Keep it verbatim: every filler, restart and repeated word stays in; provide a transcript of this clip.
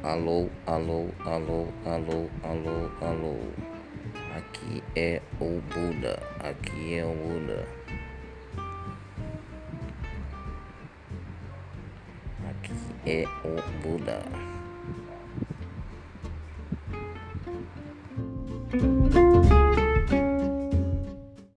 Alô, alô, alô, alô, alô, alô. Aqui é o Buda, aqui é o Buda. Aqui é o Buda.